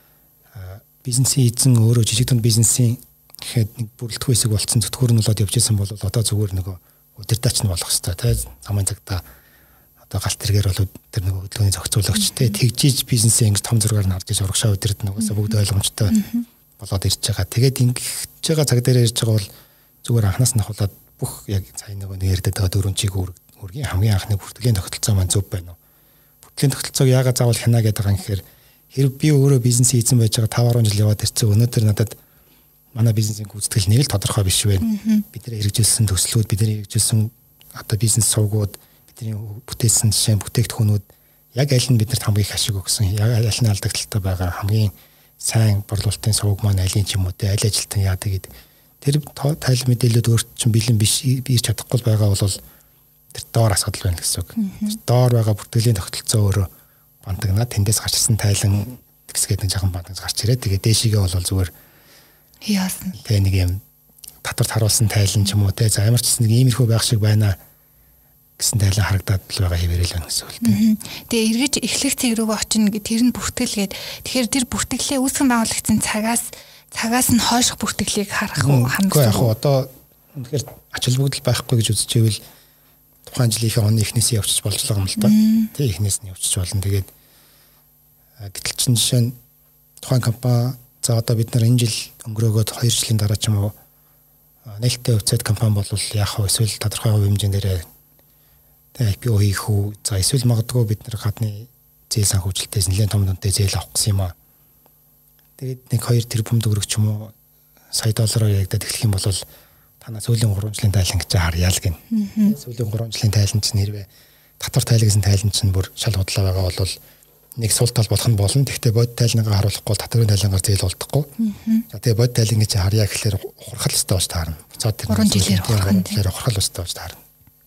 бизнесийн эзэн өөрөө жижиг дунд бизнесийн гэхэд нэг бүрэлдэхүүн хэсэг болцсон зүтгүүр нь болоод явж исэн бол одоо зүгээр нөгөө удирдаач нь болох хэвээр тий замын цагта одоо галт тэргээр бол тэр нөгөө хөдөлгөөний зохицуулагч тий тэгжиж бизнесээ ингэж том зургаар нь харж урагшаа удирдах нугасаа бүгд ойлгомжтой болоод ирж байгаа. Тэгээд ингэж байгаа цаг дээр ирж байгаа бол зүгээр анханаас нь ахуулаад бүх яг цай нөгөө нэг ярьдаг байгаа дөрвөн чиг үргийн хамгийн анхны бүртгэлийн тогтолцоо маань зөв байна уу? Бүртгэлийн тогтолцоог яагаад заавал хянаа гэдэг байгаа юм гэхээр хэрэг би өөрөө бизнесийн эзэн байж байгаа five ten жил яваад ирсэн өнөөдөр надад манай бизнесийн гүйцэтгэл нэг л тодорхой биш вэ. Бидний хэрэгжүүлсэн төслүүд, бидний хэрэгжүүлсэн одоо бизнес сувгууд, бидний бүтээсэн жишээ бүтээгдэхүүнүүд яг аль нь биднэрт хамгийн их ашиг өгсөн, яг аль нь алдагдaltaй байгаа хамгийн сайн борлуулалтын сувг маань аль нь ч юм уу те аль ажилтан яадаг гэдэг. Тэр тайл мэдээлэлүүд өөрт чинь бэлэн биш бийж чадахгүй байгаа бол тэр доор асуудал байна гэсэн үг. Тэр доор байгаа бүртгэлийн тогтолцоо өөрөө бантагнаа тэндээс гарч ирсэн тайлан тэгсгээд нэг жоохон бантагс гарч ирээ. Тэгээ дээшигээ бол зүгээр яасан. Тэгээ нэг юм татварт харуулсан тайлан ч юм уу те за ямар ч нэг иймэрхүү байх шиг байна гэсэн тайлан харагдаад л байгаа хэвээрэл байна гэсэн үг те. Тэгээ эргэж эхлэх цэг рүү очино гэ тэр нь бүртгэлгээд тэгэхээр тэр бүртгэлээ үүсгэн байгуулагчсан цагаас цагаас нь хойших бүртгэлийг харах уу хандсан. Яг одоо үнэхээр ач холбогдол байхгүй гэж үзчихвэл тухайн жилийнхээ оны эхнээсээ явчих болж байгаа юм л да. Тэ эхнээс нь явчих болно. Тэгээд гэтэл чинь жишээ нь тухайн компани за одоо бид нар энэ жил өнгөрөөгөөд хоёр жилийн дараа ч юм уу нээлттэй хувьцаат компани бол яах вэ? Эсвэл тодорхой хувь хэмжээндээ тэ ай пи о хийх үү? За эсвэл магадгүй бид нар гадны зээл санхүүжилтээс нэлээд том дүнтэй зээл авах гэсэн юм аа. Тэгээд нэг хоёр тэрбум төгрөг ч юм уу сая доллараар яригдаад эхлэх юм бол танаа сүүлийн гурван жилийн тайлан гэж харъя л гин. Сүүлийн гурван жилийн тайлан чинь хэрвээ татвар тайлгсан тайлан чинь бүр шал худлаа байгаа бол нэг сул тал болох нь болно. Гэхдээ бод тайлангаа харуулахгүй татварын тайлангаар зээл болдохгүй. За тэгээ бод тайлан гэж харъя гэхэлэр ухрахал өстэй болж таарна. Буцаад тэр гурван жилээр ухрахал өстэй болж таарна.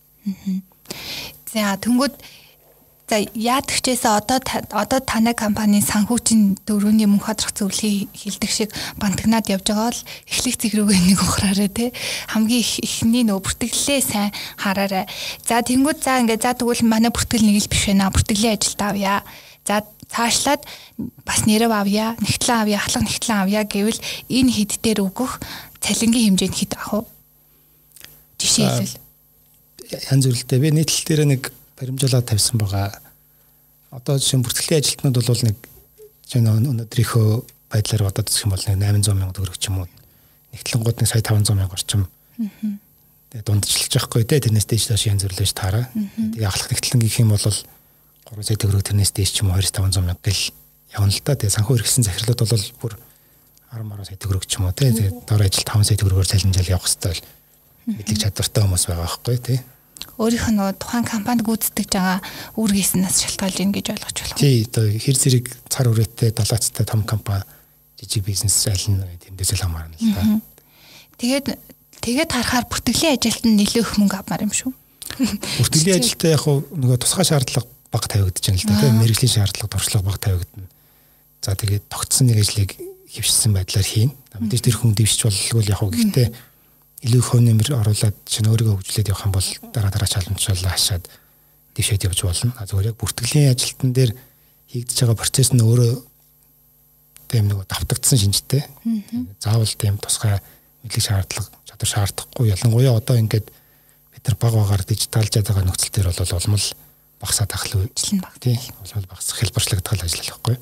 За тэнгууд за яадагчээсээ одоо одоо танай компанийн санхүүгийн дөрөвний мөнх ходрох зөвлөгийг хилдэг шиг бантагнаад явж байгаа бол эхлэх зэг рүүгээ нэг ухраарай те хамгийн ихний нөө бүртгэлээ сайн хараарай. За тэнгууд за ингээ за тэгвэл манай бүртгэл нэг л биш байна. Бүртгэлийн ажилд авъя. За цаашлаад бас нэрв авъя, нэгтлэн авъя, ахлах нэгтлэн авъя гэвэл энэ хэд дээр өгөх цалингийн хэмжээнд хэд авах вэ? Жишээ хэлвэл янз бүрэлтэй би нийтлэл дээр нэг баримжуулаад тавьсан байгаа. Одоо жишээ бүртгэлийн ажилтнууд бол нэг жишээ нь өнөөдрийнхөө байдлаар одоо зүсэх юм бол нэг восемь сая мянга төгрөг ч юм уу. Нэгтлэнгууд нэг сая таван зуун мянга орчим. Тэгээ дундчилж байхгүй те тэрнээс дээш доош янз бүрлэж таараа. Тэгээ ахлах нэгтлэн гэх юм бол гурван сая төгрөг тэрнээс дээш ч юм уу хоёр сая таван зуун мянга гэл явна л та. Тэгээ санхүү хэрэгсэн захирлууд бол бүр арван мараа сая төгрөг ч юм уу те. Тэгээ дор ажил таван сая төгрөгөөр цалинжаал явах хэрэгтэй мэдлэг чадвартай хүмүүс байгаа байхгүй те. Өөрийнх нь тухайн компанид гүйцэтгэж байгаа үүргээс шалтгаалж ийн гэж ойлгож байна. Тий, одоо хэр зэрэг цар хүрээтэй далаацтай том компани жижиг бизнес аль нь тэмдээсэл хамаарна л та. Тэгээд тэгээд харахаар бүртгэлийн ажилд нь нэлээд их мөнгө авмаар юм шүү. Бүртгэлийн ажилдаа яг нөгөө тусгай шаардлага бага тавигдаж байна л да. Тэгээд мэрэгжлийн шаардлага туршлага бага тавигдана. За тэгээд тогтсон нэг ажлыг хөвшсөн байдлаар хийн. Мэдээж тэр хүн дэвшиж боллоо яг уу гэхдээ илүү их хувь нэмэр оруулаад чинь өөрийгөө хөгжүүлээд явах юм бол дараа дараа чаламжлалаа хашаад дэвшээд явж болно. А зөвхөн яг бүртгэлийн ажилтан дээр хийгдэж байгаа процесс нь өөрөө тийм нэг давтагдсан шинжтэй. Заавал тийм тусгай мэдлэг шаардлага чадвар шаардахгүй. Ялангуяа одоо ингээд бид нар баг багаар дижиталжаад байгаа нөхцөл төр бол улам л багасаад ахлаа үечлэн баг тийм улам багасах хэлбэрчлэгдэл ажиллах байхгүй.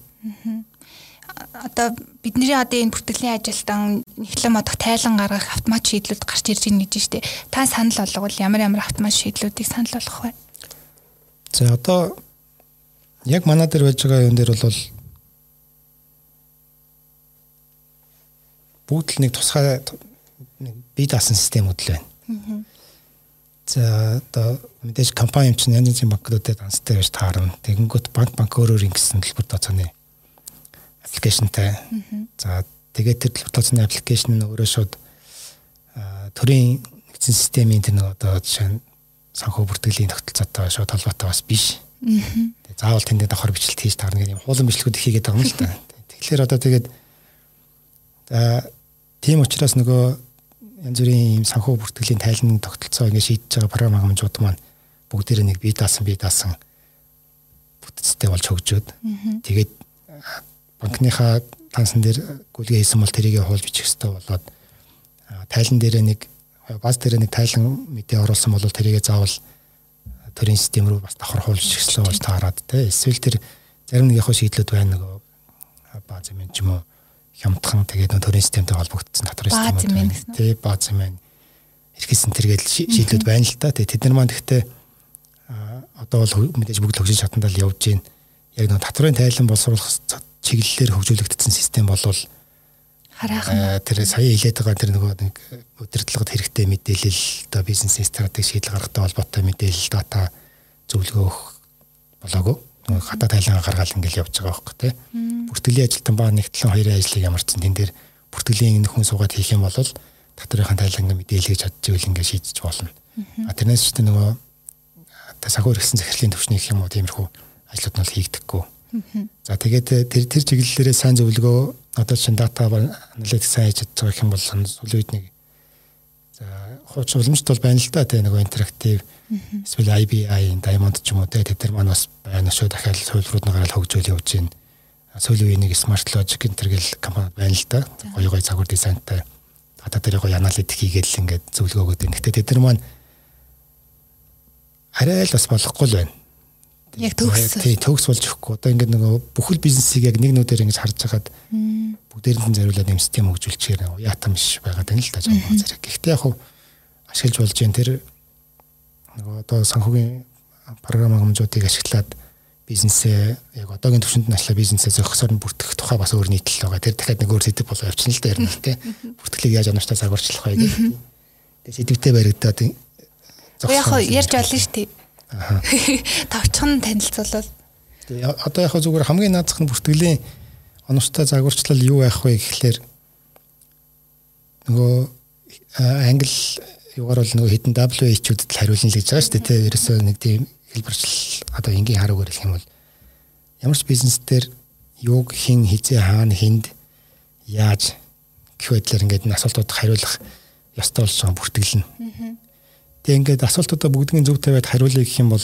Одоо бидний одоо энэ бүртгэлийн ажилтан нэгтлэн модох тайлан гаргах автомат шийдлүүд гарч ирж байна гэж штэ. Та санал болгол ямар ямар автомат шийдлүүдийг санал болгох вэ? За одоо яг манай дээр байж байгаа юм дээр бол бүгд л нэг тусгай бие даасан системүүд л байна. За одоо мэдээж компани юм чинь янз бүрийн банкнуудад анстай байж таарна. Тэгэнгүүт банк банк өөрөөр ингэсэн төлбөр тооцооны аппликейшнтай. За тэгээд тэр төлбөр тооцооны аппликейшн нь өөрөө шууд төрийн нэгдсэн системийн тэр нэг одоо жишээ нь санхүү бүртгэлийн тогтолцоотой шууд холбоотой бас биш. Тэгээд заавал тэнд давхар бичлэлт хийж таарна гэх юм хуулан бичлэгүүд их хийгээд байгаа юм л та. Тэгэхээр одоо тэгээд тийм учраас нөгөө янз бүрийн юм санхүү бүртгэлийн тайлбарын тогтолцоо ингэ шийдэж байгаа програм хангамжууд маань бүгдээрээ нэг бие даасан бие даасан бүтцтэй болж хөгжөөд тэгээд банкныхаа тансан дээр гүйлгээ хийсэн бол тэрийг хуулж бичих хэрэгтэй болоод тайлан дээрээ нэг баз дээрээ нэг тайлан мэдээ оруулсан бол тэрийг заавал төрийн систем рүү бас давхар хуулж бичих хэрэгтэй болж таарад те эсвэл тэр зарим нэг яг шийдлүүд байна нөгөө баз юм ч юм уу хямдхан тэгээд нөгөө төрийн системтэй холбогдсон татвар системүүд байна те баз юм байна эрхэсэн тэргээл шийдлүүд байна л та тэгээд тэд нар маань гэхдээ одоо бол мэдээж бүгд хөгжиж чадандаа л явж гин яг нөгөө татварын тайлан боловсруулах чиглэлээр хөгжүүлэгдсэн систем болвол хараахан тэр сая хэлээд байгаа тэр нөгөө нэг удирдлагад хэрэгтэй мэдээлэл одоо бизнес стратеги шийдэл гаргатай холбоотой мэдээлэл дата зөвлөгөө болоогүй хата тайлан гаргаал ингээл явж байгаа байхгүй тий бүртгэлийн ажилтан ба нэгтлэн хоёрын ажлыг ямарчсан тэн дээр бүртгэлийн нөхөн суугаад хийх юм бол татврынхаа тайлангийн мэдээлэлийг чадчихвэл ингээд шийдэж болно а тэрнээс ч нөгөө санхүү хэрэгсэн захирлын төвчний гэх юм уу тиймэрхүү ажлууд нь хийгдэхгүй. За тэгээд тэр тэр чиглэлээрээ сайн зөвлөгөө одоо чинь дата аналитик сайн хийж чадж байгаа юм бол сүүлийн үед нэг за хуучин уламжт бол байна л да тэ нөгөө интерактив эсвэл ай би ай Diamond ч юм уу тэ тэр маань бас байна шүү дахиад суйлрууд нагаар л хөгжөөл явж байна. Сүүлийн үеийн нэг Smart Logic интергэл компани байна л да. Гоё гоё цагур дизайнтай гадаа дээр гоё янаал идэх хийгээд л ингээд зөвлөгөө өгдөг. Гэхдээ тэд нар маань арай л бас болохгүй л байна. Яг төгс. Тий, төгс болж өгөхгүй. Одоо ингээд нөгөө бүхэл бизнесийг яг нэг нүдээр ингэж харж хагаад бүгдээрэнд нь зориулаад юм систем хөгжүүлчихээр яатам биш байгаад байна л да жаа зэрэг. Гэхдээ яг хуу ашиглаж болж जैन тэр нөгөө одоо санхүүгийн програм хэмжүүдийг ашиглаад бизнесээ яг одоогийн түвшинд нь ачлаа бизнесээ зохисоор нь бүртгэх тухай бас өөр нийтлэл байгаа. Тэр дахиад нэг өөр сэдв болоо явчихна л да ярина л те. Бүртгэлийг яаж оноочтой загварчлах вэ гэх. Тэгээ сэдвтэй баригдаад яг ярьж олно шүү дээ. Аа. Товчхон танилцуулбал. Тэгээ одоо яг зүгээр хамгийн наазах нь бүртгэлийн оноочтой загварчлал юу байх вэ гэхлээр нөгөө англи юугаар бол нөгөө хэдэн дабл ю эйч-үдэд л хариулна л гэж байгаа шүү дээ. Тэгээ ерөөсөө нэг тийм хэлбэрчл одоо энгийн хараагаар хэлэх юм бол ямар ч бизнес дээр юуг хэн хизээ хаана хүнд яаж гэх байдлаар ингээд энэ асуултуудад хариулах ёстой болж байгаа бүртгэл нь. Тэгээ ингээд асуултуудаа бүгднийг зөв тавиад хариулъя гэх юм бол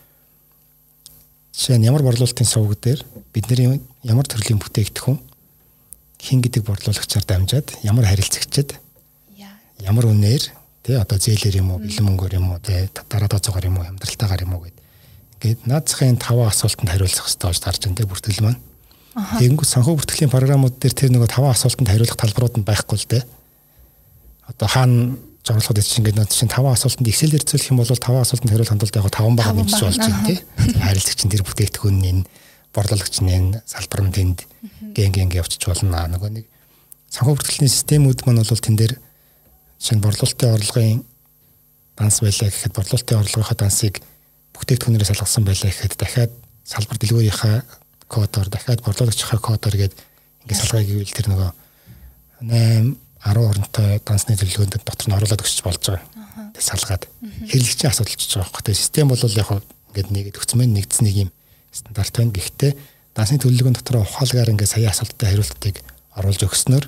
жишээ нь ямар борлуулалтын сувг дээр бидний ямар төрлийн бүтээгдэхүүн хэн гэдэг борлуулагчаар дамжаад ямар харилцагчид ямар үнээр тий одоо зээлэр юм уу бэлэн мөнгөөр юм уу тий дараа тооцоогоор юм уу амьдралтаагаар юм уу гэд ингээд наацхийн таван асуултанд хариулах хэрэгтэй болж тарж байна тий бүртгэл маань. Тэгэнгүүт санхүү бүртгэлийн програмууд дээр тэр нөгөө таван асуултанд хариулах талбарууд нь байхгүй л тий. Одоо хаана журлахад чинь ингээд над чинь таван асуултанд Excel-ээр зөвлөх юм бол таван асуултанд хариулах хандлагатай яг таван баг нэмж болж байна тий. Харилцагч нь тэр бүтээгдэхүүн нь борлуулагч нь салбар нь тэнд гэн гэн явчих болно. Нөгөө нэг санхүү бүртгэлийн системүүд маань бол тэн дээр шинэ борлуулалтын орлогын данс байлаа гэхэд борлуулалтын орлогынхаа дансыг бүтээгдэхүүнээрээ салгасан байлаа гэхэд дахиад салбар дэлгүүрийнхаа кодоор дахиад борлуулагчийнхаа кодоор гээд ингээд салгая гэвэл тэр нөгөө найман арван оронтой дансны төлөвлөгөөнд дотор нь оруулаад өгч болж байгаа. Тэг салгаад хэрэглэгчийн асуудал ч байгаа байхгүй. Тэг систем бол яг ингээд нэгэд өгцмэн нэгдсэн нэг юм стандарт байна. Гэхдээ дансны төлөвлөгөөнд дотор ухаалгаар ингээд сая асуулттай хариултыг оруулж өгснөөр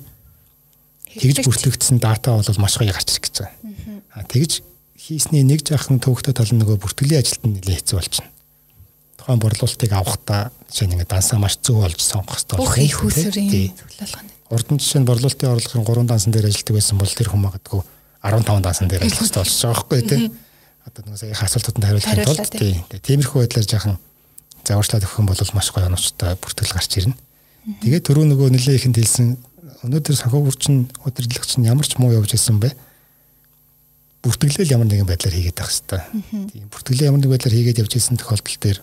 тэгж бүртгэгдсэн дата бол маш гоё гарч ирэх гэж байгаа. Аа тэгж хийсний нэг жаахан төвөгтэй тал нь нөгөө бүртгэлийн ажилд нь нэлээд хэцүү болчихно. Тухайн борлуулалтыг авахдаа жишээ нь ингээд дансаа маш зөв олж сонгох хэрэгтэй болох. Бүх их усрын зөвлөлгөөн. Урд нь жишээ нь борлуулалтын орлогын гурван дансан дээр ажилладаг байсан бол тэр хүн магадгүй арван таван дансан дээр ажиллах хэрэгтэй болж байгаа байхгүй тий. Одоо нөгөө сая асуултууданд хариулахын тулд тий. Тиймэрхүү байдлаар жаахан заварчлаад өгөх юм бол маш гоё оноочтой бүртгэл гарч ирнэ. Тэгээд түрүү нөгөө нэлээд ихэнд хэлсэн өнөөдөр санхүү бүрчин удирдлагч нь ямар ч муу явж ирсэн бэ? Бүртгэлэл ямар нэгэн байдлаар хийгээд байх хэрэгтэй. Тийм бүртгэлээ ямар нэгэн байдлаар хийгээд явж ирсэн тохиолдол дээр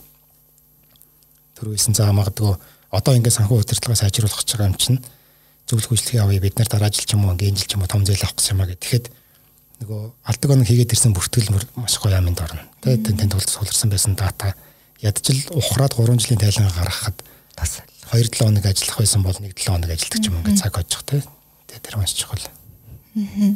төрүүлсэн цаа магадгүй одоо ингээд санхүү удирдлагаа сайжруулах гэж байгаа юм чинь зөвлөх үйлчлэгээ авъя бид нар дараа жил ч юм уу ингээд жил ч юм уу том зээл авах гэсэн юм аа гэх. Тэгэхэд нөгөө алдаг оног хийгээд ирсэн бүртгэл маш гоё аминд орно. Тэгээд тэнд тулд суулгасан байсан дата ядчил ухраад гурван жилийн тайлан гаргахад бас хоёр долоо хоног ажиллах байсан бол нэг долоо хоног ажилладаг ч юм ингээд цаг хожих тий. Тэгээд тэр маш чухал. Аа.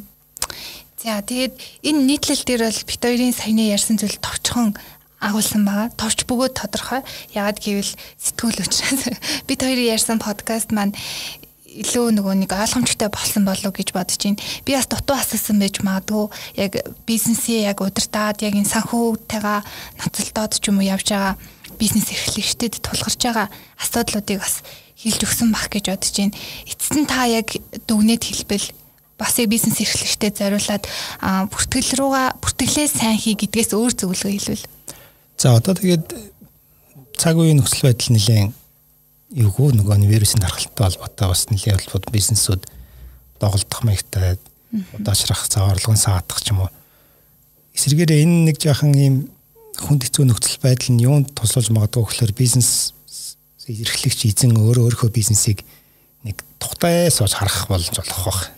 За тэгээд энэ нийтлэл дээр бол бит хоёрын саяны ярьсан зүйл товчхон агуулсан байгаа. Товч бөгөөд тодорхой. Ягаад гэвэл сэтгүүл учраас бит хоёрын ярьсан подкаст маань илүү нөгөө нэг ойлгомжтой болсон болов гэж бодож байна. Би бас дутуу асуусан байж магадгүй. Яг бизнесээ яг удирдаад яг энэ санхүүтэйгээ ноцолдоод ч юм уу явж байгаа бизнес эрхлэгчдэд тулгарч байгаа асуудлуудыг бас хэлж өгсөн бах гэж бодож байна. Эцэст нь та яг дүгнээд хэлбэл бас яг бизнес эрхлэгчдэд зориулаад бүртгэл рүүгээ бүртгэлээ сайн хий гэдгээс өөр зөвлөгөө хэлвэл. За одоо тэгээд цаг үеийн нөхцөл байдал нэлээд юугүй нөгөө вирусын тархалтай холбоотой бас нэлээд холбоотой бизнесүүд доголдох маягтай удаашрах цааварлгын саадах ч юм уу. Эсвэргээрээ энэ нэг жаахан ийм хүнд хэцүү нөхцөл байдал нь юунд тусалж магадгүй гэхээр бизнес эрхлэгч эзэн өөрөө өөрийнхөө бизнесийг нэг тухтай сууж харах болж болох байх.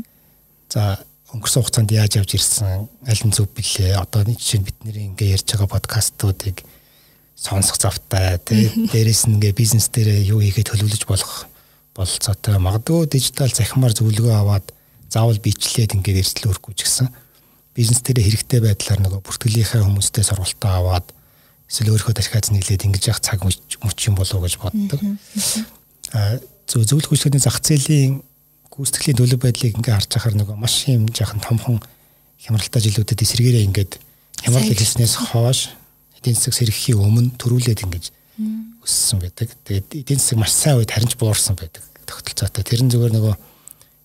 За өнгөрсөн хугацаанд яаж явж ирсэн аль нь зөв билээ. Одоо нэг жишээ нь бидний ингээ ярьж байгаа подкастуудыг сонсох завтай тий дээрээс нь ингээ бизнес дээрээ юу хийгээд төлөвлөж болох бололцоотой магадгүй дижитал захимаар зөвлөгөө аваад заавал бичлээд ингээд эрсдэл өрөхгүй ч гэсэн бизнес дээрээ хэрэгтэй байдлаар нөгөө бүртгэлийнхаа хүмүүстэй сургалтаа аваад эсвэл өөрийнхөө тархиаз нэглээд ингэж явах цаг мөч юм болов уу гэж боддог. А зөв зөвлөх үйлчлэгийн зах зээлийн гүйцэтгэлийн төлөв байдлыг ингээ харж байхаар нөгөө маш юм жаахан томхон хямралтай жилүүдэд эсэргээрээ ингээд хямрал хийснээс хойш эдийн засаг сэргэхийн өмнө төрүүлээд ингэж өссөн байдаг. Тэгээд эдийн засаг маш сайн үед харин ч буурсан байдаг тогтолцоотой. Тэр нь зүгээр нөгөө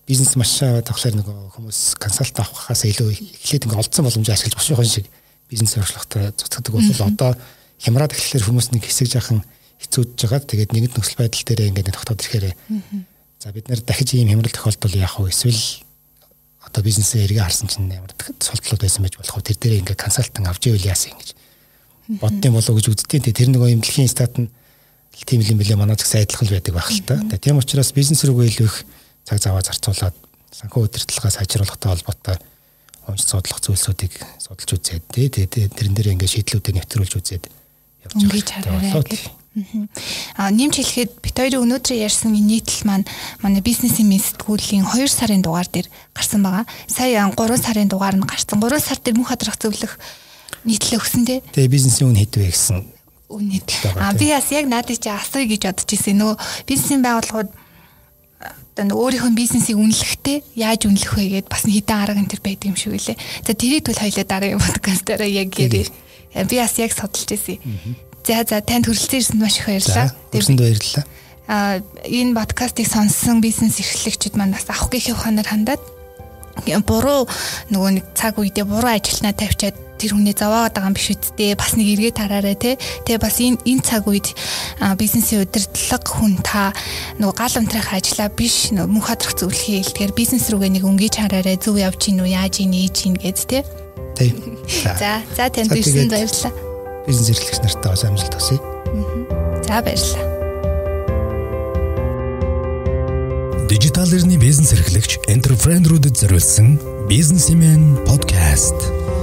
бизнес маш тавхлаар нөгөө хүмүүс консалт авахаас илүү эхлээд ингээ олдсон боломж ашиглаж бошгоо шиг бизнес өршлөхтэй зүтгэдэг бол одоо хямраад эхлэхээр хүмүүс нэг хэсэг жаахан хэцүүдж байгаа. Тэгээд нэгэн нөхцөл байдал дээр ингээд тогтоод ирэхээр за бид нэр дахиж ийм хямрал тохиолдол яах вэ? Эсвэл одоо бизнесээ эргээ харсан чинь ямар султлууд байсан байж болох вэ? Тэр дээр ингээд консалтинг авч ивэл яасан гэж боддсон болов уу гэж үзтiin. Тэр нөгөө юм дэлхийн стат нь тийм юм билээ манай зах сайдлах байдаг байх л та. Тийм учраас бизнес рүүгээ илүү их цаг заваа зарцуулаад санхүү удирдлагаа сайжруулахтай холбоотой онц судлах зүйлсүүдийг судалж үзээд тий тэрэн дээр ингээд шийдлүүдээ нэвтрүүлж үзээд явж байгаа. А нэмж хэлэхэд бит хоёрын өнөөдөр ярьсан нийтлэл маань манай бизнесийн мэд сэтгүүлийн хоёр сарын дугаар дээр гарсан байгаа. Сая гурван сарын дугаар нь гарсан. гурван сар дээр мөнх хадрах зөвлөх нийтлэл өгсөн тий. Тэгээ бизнесийн үн хэдвэ гэсэн үн нийтлэл. А би бас яг надад чи асууя гэж бодож ирсэн. Нөгөө бизнесийн байгууллагууд одоо өөрийнхөө бизнесийг үнэлэхдээ яаж үнэлэх вэ гэдээ бас хэдэн арга энэ төр байдаг юм шиг үлээ. За тэрийг бол хоёлаа дараагийн подкастаараа яг ярив. Би бас яг судалж ирсэн. За за танд хүрэлцэн ирсэнд маш их баярлалаа. Хүрсэнд баярлалаа. Аа энэ подкастыг сонссон бизнес эрхлэгчид маань бас авах гэхийн ухаанаар хандаад буруу нөгөө нэг цаг үедээ буруу ажилтнаа тавьчаад тэр хүнээ зовоод байгаа юм биш үсттэй бас нэг эргээ тараарай те. Тэгээ бас энэ энэ цаг үед бизнесийн удирдлага хүн та нөгөө гал унтрах ажиллаа биш нөгөө мөнх хадрах зөвлөхий хэлдгээр бизнес рүүгээ нэг өнгөж хараарай зөв явж гин үү яаж ийн ээж ийн гэд те. Тийм. За за танд ирсэн баярлалаа. Бизнес эрхлэгч нартай бас амжилт хүсье. За баярлалаа. Дижитал эрхний бизнес эрхлэгч энтерпренерүүдэд зориулсан бизнесмен подкаст.